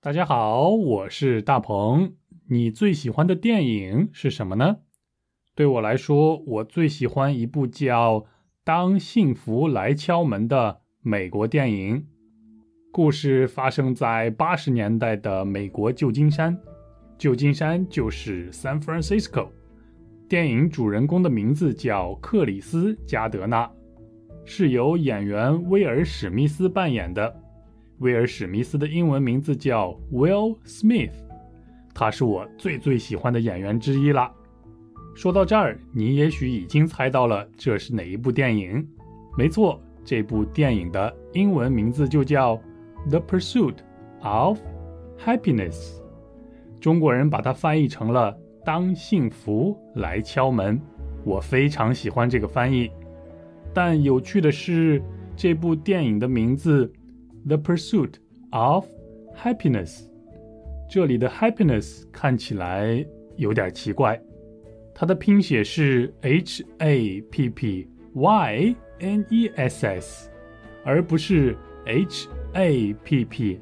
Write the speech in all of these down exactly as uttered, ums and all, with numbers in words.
大家好，我是大鹏。你最喜欢的电影是什么呢？对我来说，我最喜欢一部叫《当幸福来敲门》的美国电影。故事发生在八十年代的美国旧金山，旧金山就是 San Francisco。电影主人公的名字叫克里斯·加德纳，是由演员威尔·史密斯扮演的。威尔·史密斯的英文名字叫 Will Smith， 他是我最最喜欢的演员之一啦。说到这儿，你也许已经猜到了这是哪一部电影。没错，这部电影的英文名字就叫 The Pursuit of Happiness， 中国人把它翻译成了当幸福来敲门。我非常喜欢这个翻译，但有趣的是，这部电影的名字The Pursuit of Happiness， 这里的 Happiness 看起来有点奇怪，它的拼写是 H A P P Y N E S S， 而不是 H A P P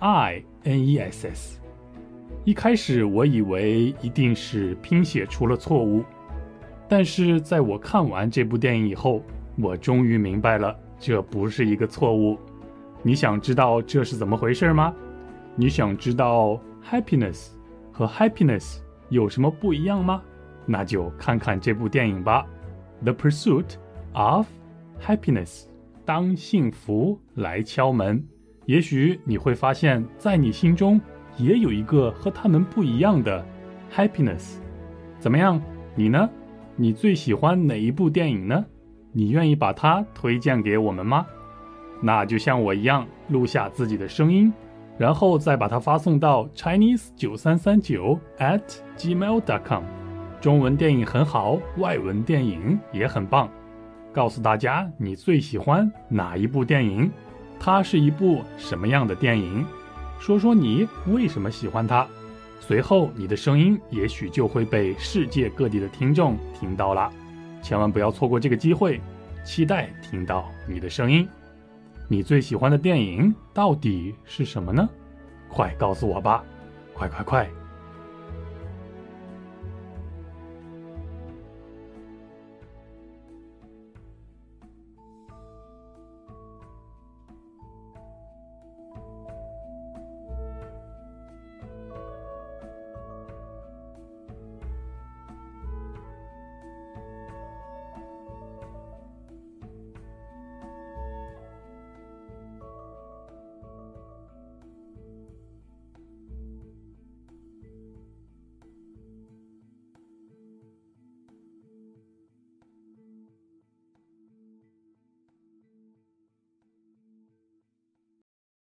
I N E S S。 一开始我以为一定是拼写出了错误，但是在我看完这部电影以后，我终于明白了，这不是一个错误。你想知道这是怎么回事吗？你想知道 happiness 和 happiness 有什么不一样吗？那就看看这部电影吧。 The Pursuit of Happiness， 当幸福来敲门。也许你会发现，在你心中也有一个和他们不一样的 happiness。 怎么样，你呢？你最喜欢哪一部电影呢？你愿意把它推荐给我们吗？那就像我一样，录下自己的声音，然后再把它发送到 chinese 九三三九 at gmail dot com。 中文电影很好，外文电影也很棒，告诉大家你最喜欢哪一部电影，它是一部什么样的电影，说说你为什么喜欢它。随后你的声音也许就会被世界各地的听众听到了，千万不要错过这个机会，期待听到你的声音。你最喜欢的电影到底是什么呢？快告诉我吧，快快快